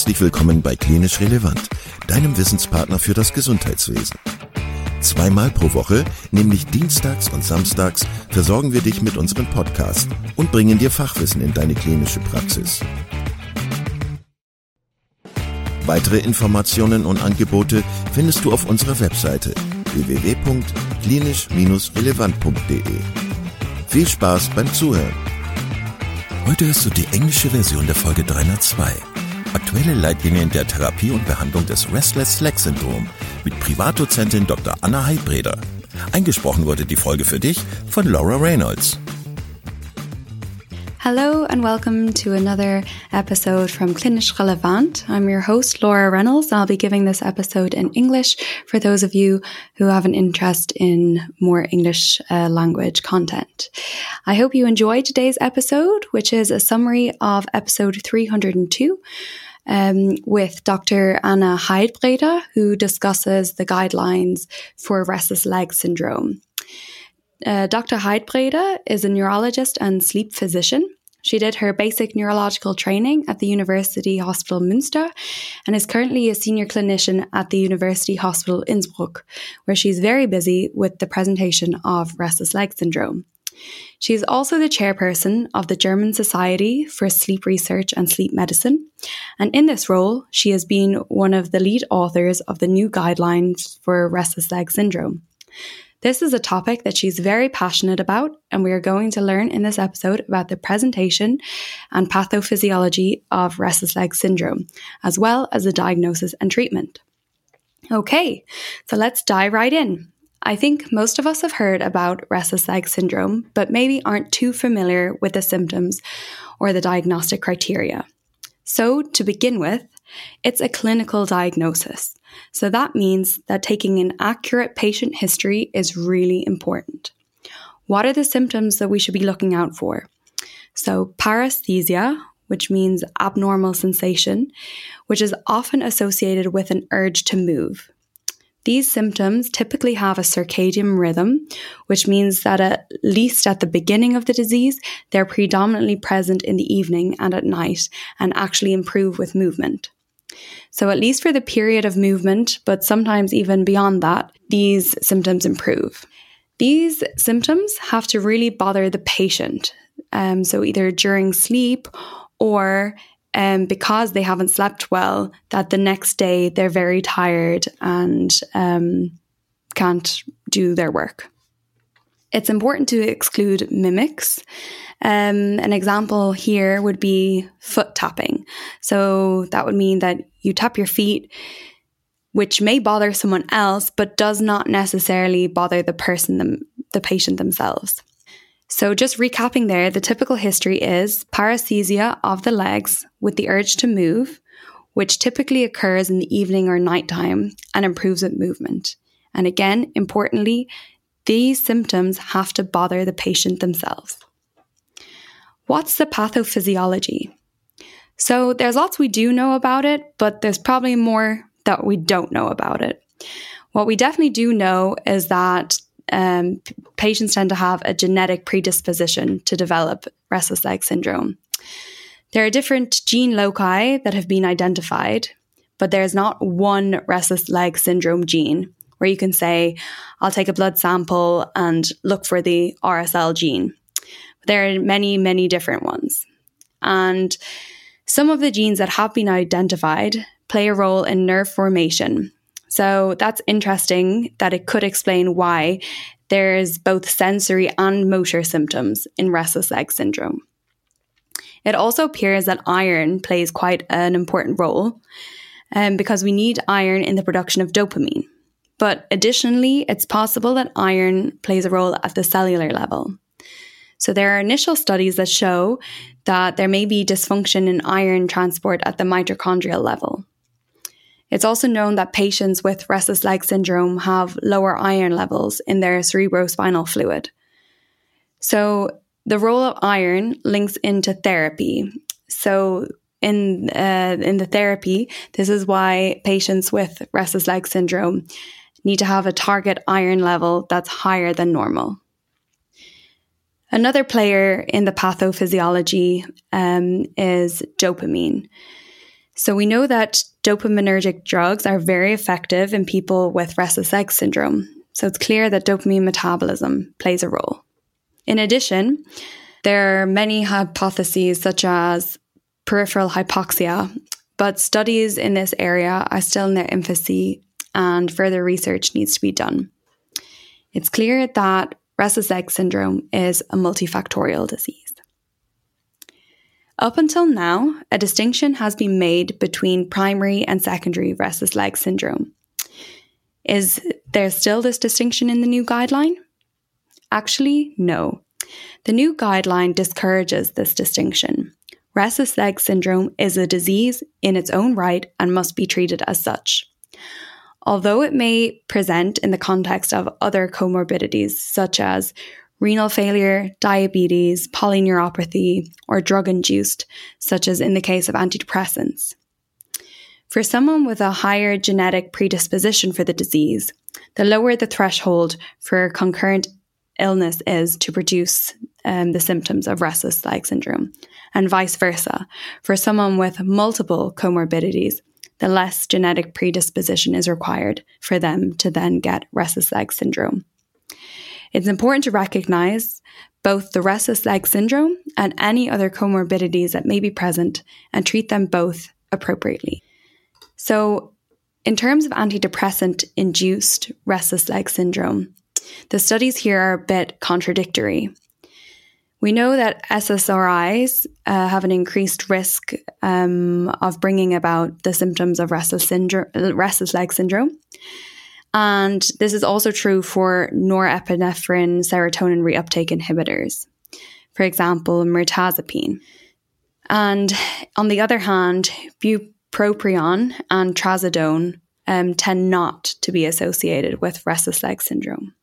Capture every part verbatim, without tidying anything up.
Herzlich willkommen bei Klinisch Relevant, deinem Wissenspartner für das Gesundheitswesen. Zweimal pro Woche, nämlich dienstags und samstags, versorgen wir dich mit unserem Podcast und bringen dir Fachwissen in deine klinische Praxis. Weitere Informationen und Angebote findest du auf unserer Webseite w w w punkt klinisch relevant punkt d e. Viel Spaß beim Zuhören! Heute hörst du die englische Version der Folge dreihundertzwei. Aktuelle Leitlinien der Therapie und Behandlung des Restless-Legs-Syndrom mit Privatdozentin Doktor Anna Heidbreder. Eingesprochen wurde die Folge für dich von Laura Reynolds. Hello and welcome to another episode from Klinisch Relevant. I'm your host, Laura Reynolds. I'll be giving this episode in English for those of you who have an interest in more English uh, language content. I hope you enjoyed today's episode, which is a summary of episode three hundred two um, with Doctor Anna Heidbreder, who discusses the guidelines for restless leg syndrome. Uh, Doctor Heidbreder is a neurologist and sleep physician. She did her basic neurological training at the University Hospital Münster and is currently a senior clinician at the University Hospital Innsbruck, where she's very busy with the presentation of restless leg syndrome. She is also the chairperson of the German Society for Sleep Research and Sleep Medicine, and in this role, she has been one of the lead authors of the new guidelines for restless leg syndrome. This is a topic that she's very passionate about, and we are going to learn in this episode about the presentation and pathophysiology of restless leg syndrome, as well as the diagnosis and treatment. Okay, so let's dive right in. I think most of us have heard about restless leg syndrome, but maybe aren't too familiar with the symptoms or the diagnostic criteria. So, to begin with, it's a clinical diagnosis. So that means that taking an accurate patient history is really important. What are the symptoms that we should be looking out for? So paresthesia, which means abnormal sensation, which is often associated with an urge to move. These symptoms typically have a circadian rhythm, which means that at least at the beginning of the disease, they're predominantly present in the evening and at night and actually improve with movement. So at least for the period of movement, but sometimes even beyond that, these symptoms improve. These symptoms have to really bother the patient. Um, so either during sleep or um, because they haven't slept well, that the next day they're very tired and um, can't do their work. It's important to exclude mimics. Um, an example here would be foot tapping. So that would mean that you tap your feet, which may bother someone else, but does not necessarily bother the person, them, the patient themselves. So just recapping there, the typical history is paresthesia of the legs with the urge to move, which typically occurs in the evening or nighttime and improves with movement. And again, importantly, these symptoms have to bother the patient themselves. What's the pathophysiology? So there's lots we do know about it, but there's probably more that we don't know about it. What we definitely do know is that um, p- patients tend to have a genetic predisposition to develop restless leg syndrome. There are different gene loci that have been identified, but there's not one restless leg syndrome gene where you can say, I'll take a blood sample and look for the R S L gene. There are many, many different ones. And some of the genes that have been identified play a role in nerve formation. So that's interesting that it could explain why there's both sensory and motor symptoms in restless leg syndrome. It also appears that iron plays quite an important role um, because we need iron in the production of dopamine. But additionally, it's possible that iron plays a role at the cellular level. So there are initial studies that show that there may be dysfunction in iron transport at the mitochondrial level. It's also known that patients with restless leg syndrome have lower iron levels in their cerebrospinal fluid. So the role of iron links into therapy. So in uh, in the therapy, this is why patients with restless leg syndrome need to have a target iron level that's higher than normal. Another player in the pathophysiology um, is dopamine. So we know that dopaminergic drugs are very effective in people with restless leg syndrome. So it's clear that dopamine metabolism plays a role. In addition, there are many hypotheses such as peripheral hypoxia, but studies in this area are still in their infancy and further research needs to be done. It's clear that restless leg syndrome is a multifactorial disease. Up until now, a distinction has been made between primary and secondary restless leg syndrome. Is there still this distinction in the new guideline? Actually, no. The new guideline discourages this distinction. Restless leg syndrome is a disease in its own right and must be treated as such. Although it may present in the context of other comorbidities such as renal failure, diabetes, polyneuropathy, or drug-induced, such as in the case of antidepressants. For someone with a higher genetic predisposition for the disease, the lower the threshold for concurrent illness is to produce um, the symptoms of restless leg syndrome, and vice versa. For someone with multiple comorbidities, the less genetic predisposition is required for them to then get restless leg syndrome. It's important to recognize both the restless leg syndrome and any other comorbidities that may be present and treat them both appropriately. So, in terms of antidepressant-induced restless leg syndrome, the studies here are a bit contradictory. We know that S S R Is uh, have an increased risk um, of bringing about the symptoms of restless, syndrome, restless leg syndrome. And this is also true for norepinephrine serotonin reuptake inhibitors, for example, mirtazapine. And on the other hand, bupropion and trazodone um, tend not to be associated with restless leg syndrome.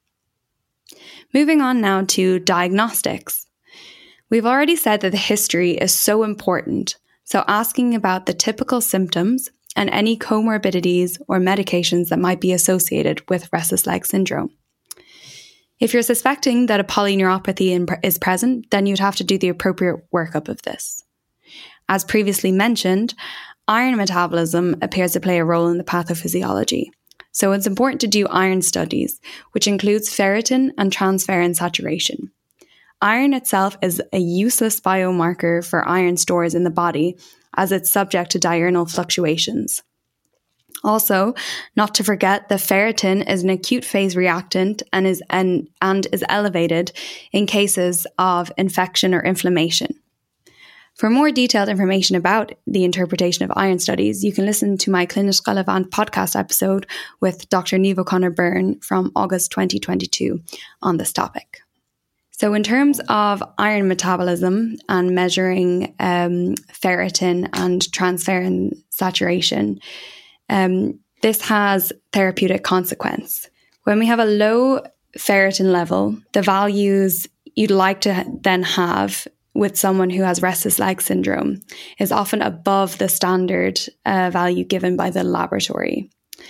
Moving on now to diagnostics. We've already said that the history is so important, so asking about the typical symptoms and any comorbidities or medications that might be associated with restless leg syndrome. If you're suspecting that a polyneuropathy is present, then you'd have to do the appropriate workup of this. As previously mentioned, iron metabolism appears to play a role in the pathophysiology. So it's important to do iron studies, which includes ferritin and transferrin saturation. Iron itself is a useless biomarker for iron stores in the body, as it's subject to diurnal fluctuations. Also, not to forget that ferritin is an acute phase reactant and is and, and is elevated in cases of infection or inflammation. For more detailed information about the interpretation of iron studies, you can listen to my Clinisch Relevant podcast episode with Doctor Niamh O'Connor Byrne from August twenty twenty-two on this topic. So in terms of iron metabolism and measuring um, ferritin and transferrin saturation, um, this has therapeutic consequence. When we have a low ferritin level, the values you'd like to then have with someone who has restless leg syndrome is often above the standard uh, value given by the laboratory.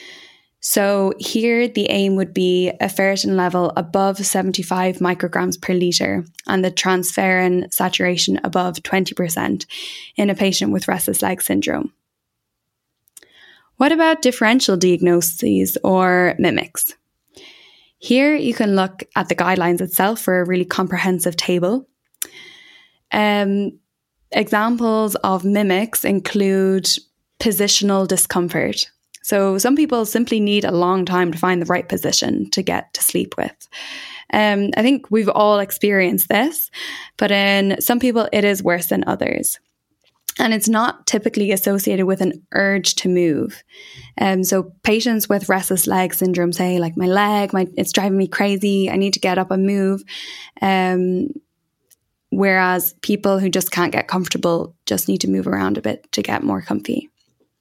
So here the aim would be a ferritin level above seventy-five micrograms per litre and the transferrin saturation above twenty percent in a patient with restless leg syndrome. What about differential diagnoses or mimics? Here you can look at the guidelines itself for a really comprehensive table. Um, examples of mimics include positional discomfort. So some people simply need a long time to find the right position to get to sleep with. Um, I think we've all experienced this, but in some people it is worse than others. And it's not typically associated with an urge to move. Um, so patients with restless leg syndrome say, like, my leg, my, it's driving me crazy, I need to get up and move. Um, whereas people who just can't get comfortable just need to move around a bit to get more comfy.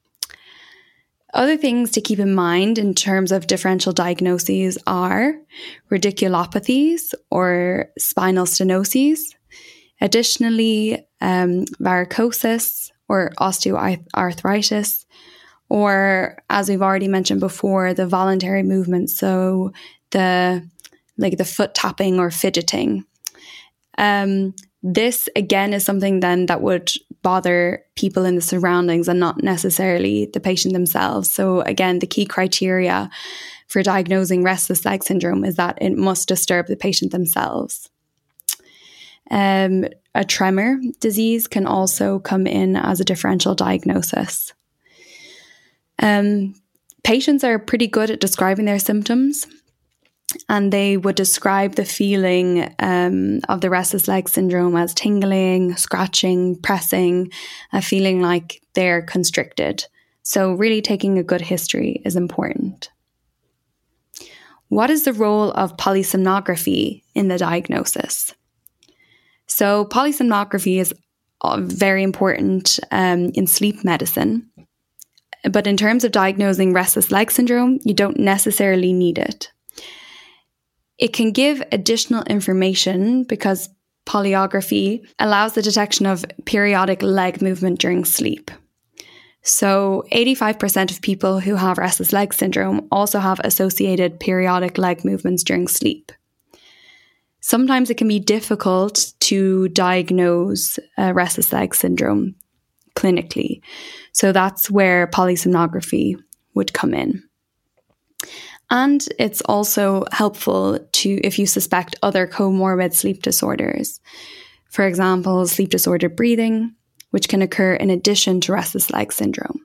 Other things to keep in mind in terms of differential diagnoses are radiculopathies or spinal stenoses. Additionally, um, varicosis or osteoarthritis, or as we've already mentioned before, the voluntary movement, so the like the foot tapping or fidgeting. Um, this again is something then that would bother people in the surroundings and not necessarily the patient themselves. So again, the key criteria for diagnosing restless leg syndrome is that it must disturb the patient themselves. Um, a tremor disease can also come in as a differential diagnosis. Um, patients are pretty good at describing their symptoms, and they would describe the feeling um, of the restless leg syndrome as tingling, scratching, pressing, a feeling like they're constricted. So really taking a good history is important. What is the role of polysomnography in the diagnosis? So polysomnography is very important um, in sleep medicine. But in terms of diagnosing restless leg syndrome, you don't necessarily need it. It can give additional information because polyography allows the detection of periodic leg movement during sleep. So eighty-five percent of people who have restless leg syndrome also have associated periodic leg movements during sleep. Sometimes it can be difficult to diagnose uh, restless leg syndrome clinically. So that's where polysomnography would come in. And it's also helpful to if you suspect other comorbid sleep disorders. For example, sleep disordered breathing, which can occur in addition to restless leg syndrome.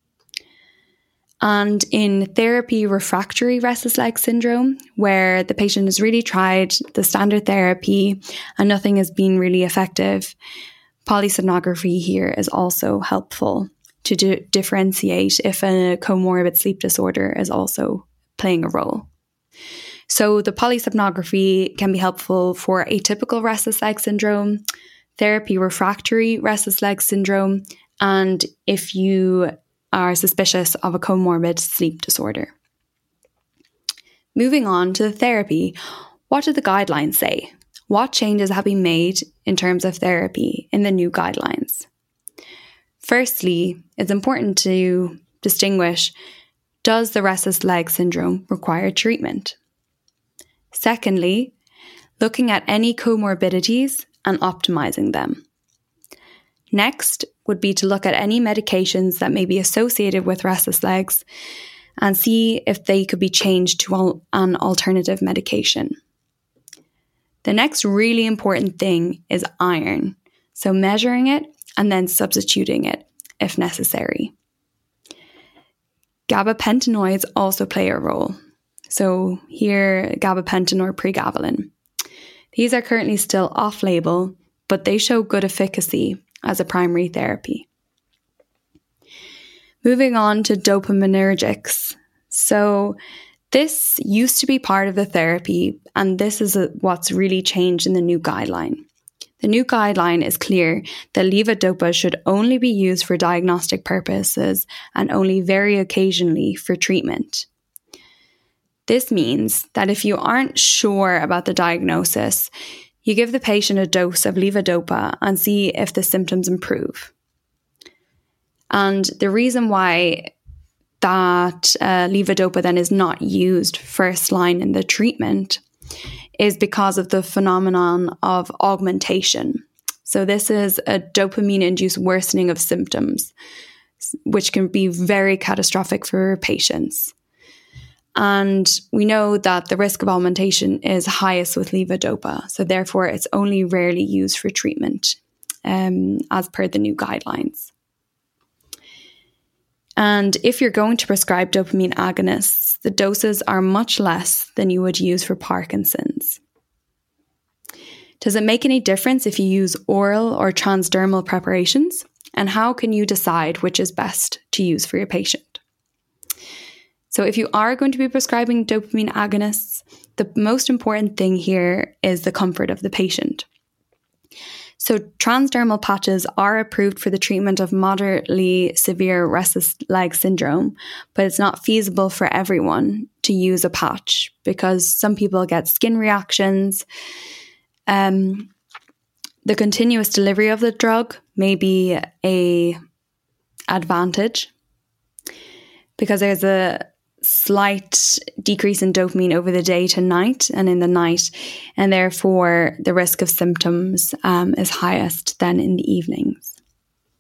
And in therapy refractory restless leg syndrome, where the patient has really tried the standard therapy and nothing has been really effective, polysomnography here is also helpful to di- differentiate if a comorbid sleep disorder is also playing a role. So the polysomnography can be helpful for atypical restless leg syndrome, therapy refractory restless leg syndrome, and if you are suspicious of a comorbid sleep disorder. Moving on to the therapy, what do the guidelines say? What changes have been made in terms of therapy in the new guidelines? Firstly, it's important to distinguish, does the restless leg syndrome require treatment? Secondly, looking at any comorbidities and optimizing them. Next would be to look at any medications that may be associated with restless legs and see if they could be changed to an alternative medication. The next really important thing is iron, so measuring it and then substituting it if necessary. Gabapentinoids also play a role. So here, gabapentin or pregabalin. These are currently still off-label, but they show good efficacy as a primary therapy. Moving on to dopaminergics. So this used to be part of the therapy, and this is a, what's really changed in the new guideline. The new guideline is clear that levodopa should only be used for diagnostic purposes and only very occasionally for treatment. This means that if you aren't sure about the diagnosis, you give the patient a dose of levodopa and see if the symptoms improve. And the reason why that uh, levodopa then is not used first line in the treatment is because of the phenomenon of augmentation. So this is a dopamine-induced worsening of symptoms, which can be very catastrophic for patients. And we know that the risk of augmentation is highest with levodopa, so therefore it's only rarely used for treatment, um, as per the new guidelines. And if you're going to prescribe dopamine agonists, the doses are much less than you would use for Parkinson's. Does it make any difference if you use oral or transdermal preparations? And how can you decide which is best to use for your patient? So if you are going to be prescribing dopamine agonists, the most important thing here is the comfort of the patient. So transdermal patches are approved for the treatment of moderately severe restless leg syndrome, but it's not feasible for everyone to use a patch because some people get skin reactions. Um, the continuous delivery of the drug may be a advantage because there's a slight decrease in dopamine over the day to night and in the night, and therefore the risk of symptoms um, is highest than in the evenings.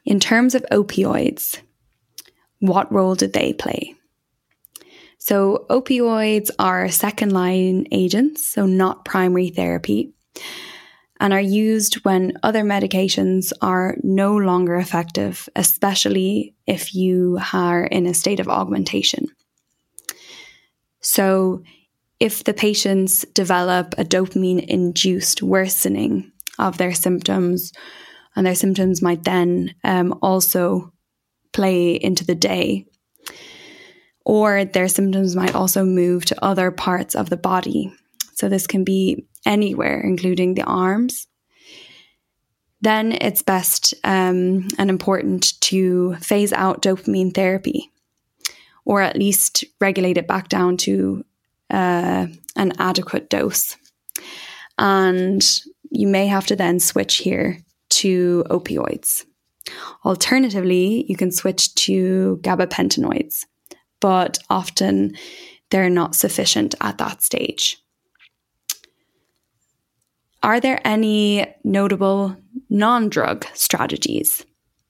In terms of opioids, what role did they play? So opioids are second-line agents, so not primary therapy, and are used when other medications are no longer effective, especially if you are in a state of augmentation. So if the patients develop a dopamine-induced worsening of their symptoms, and their symptoms might then um, also play into the day, or their symptoms might also move to other parts of the body. So this can be anywhere, including the arms. Then it's best um, and important to phase out dopamine therapy, or at least regulate it back down to uh, an adequate dose. And you may have to then switch here to opioids. Alternatively, you can switch to gabapentinoids, but often they're not sufficient at that stage. Are there any notable non-drug strategies?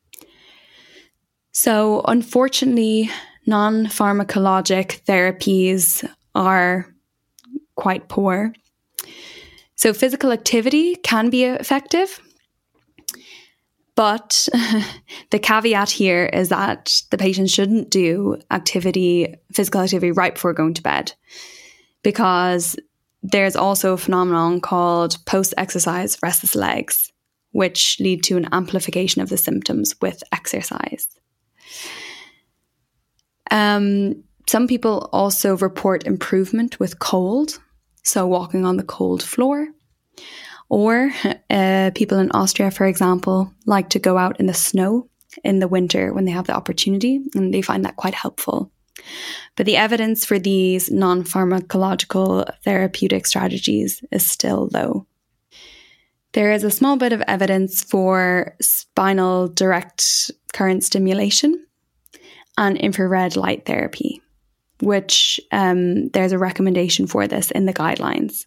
So, unfortunately, non-pharmacologic therapies are quite poor. So, physical activity can be effective, but the caveat here is that the patient shouldn't do activity, physical activity right before going to bed, because there's also a phenomenon called post-exercise restless legs, which lead to an amplification of the symptoms with exercise. Um, some people also report improvement with cold, so walking on the cold floor. Or uh, people in Austria, for example, like to go out in the snow in the winter when they have the opportunity, and they find that quite helpful. But the evidence for these non-pharmacological therapeutic strategies is still low. There is a small bit of evidence for spinal direct current stimulation and infrared light therapy, which um, there's a recommendation for this in the guidelines.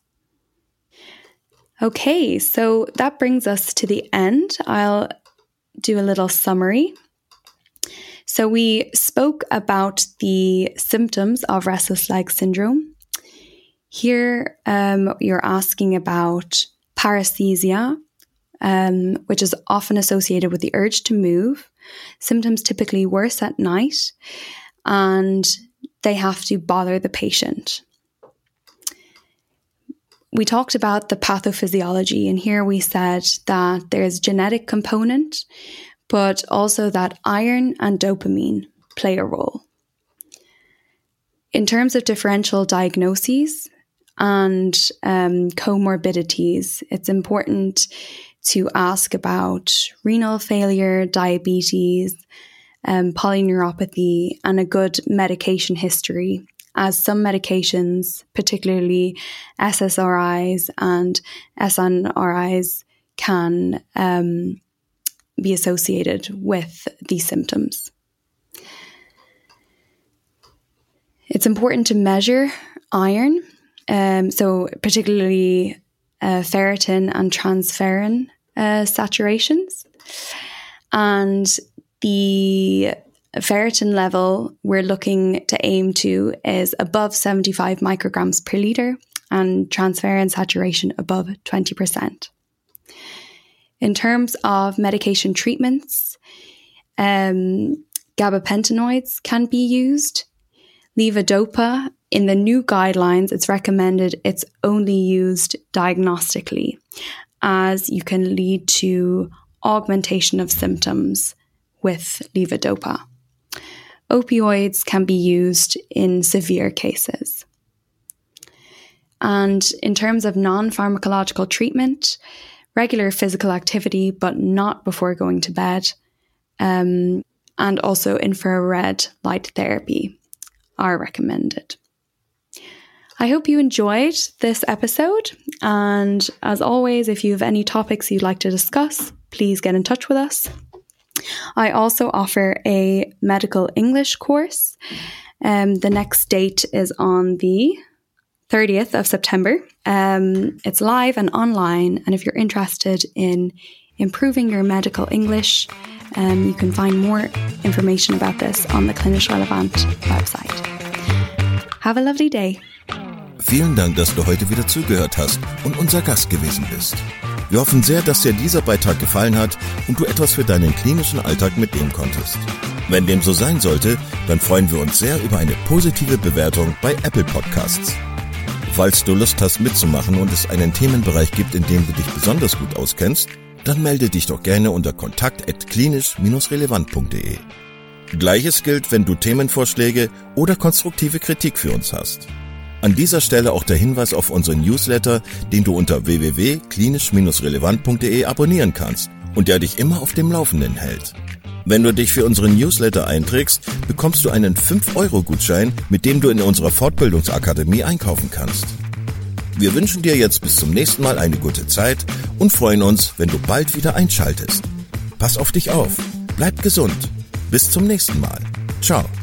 Okay, so that brings us to the end. I'll do a little summary. So we spoke about the symptoms of restless leg syndrome. Here um, you're asking about paresthesia, um, which is often associated with the urge to move. Symptoms typically worse at night, and they have to bother the patient. We talked about the pathophysiology, and here we said that there's genetic component, but also that iron and dopamine play a role. In terms of differential diagnoses and um, comorbidities, it's important to ask about renal failure, diabetes, um, polyneuropathy, and a good medication history, as some medications, particularly S S R Is and S N R Is, can um, be associated with these symptoms. It's important to measure iron, um, so particularly uh, ferritin and transferrin uh, saturations. And the ferritin level we're looking to aim to is above seventy-five micrograms per litre, and transferrin saturation above twenty percent. In terms of medication treatments, um, gabapentinoids can be used. Levodopa, in the new guidelines, it's recommended it's only used diagnostically, as you can lead to augmentation of symptoms with levodopa. Opioids can be used in severe cases. And in terms of non-pharmacological treatment, regular physical activity, but not before going to bed, um, and also infrared light therapy are recommended. I hope you enjoyed this episode, and as always, if you have any topics you'd like to discuss, please get in touch with us. I also offer a medical English course. Um, the next date is on the thirtieth of September. Um, it's live and online, and if you're interested in improving your medical English, Um, you can find more information about this on the Klinisch Relevant website. Have a lovely day. Vielen Dank, dass du heute wieder zugehört hast und unser Gast gewesen bist. Wir hoffen sehr, dass dir dieser Beitrag gefallen hat und du etwas für deinen klinischen Alltag mitnehmen konntest. Wenn dem so sein sollte, dann freuen wir uns sehr über eine positive Bewertung bei Apple Podcasts. Falls du Lust hast mitzumachen und es einen Themenbereich gibt, in dem du dich besonders gut auskennst, dann melde dich doch gerne unter kontakt at klinisch relevant punkt de. Gleiches gilt, wenn du Themenvorschläge oder konstruktive Kritik für uns hast. An dieser Stelle auch der Hinweis auf unseren Newsletter, den du unter w w w punkt klinisch relevant punkt de abonnieren kannst und der dich immer auf dem Laufenden hält. Wenn du dich für unseren Newsletter einträgst, bekommst du einen fünf Euro Gutschein, mit dem du in unserer Fortbildungsakademie einkaufen kannst. Wir wünschen dir jetzt bis zum nächsten Mal eine gute Zeit und freuen uns, wenn du bald wieder einschaltest. Pass auf dich auf, bleib gesund. Bis zum nächsten Mal. Ciao.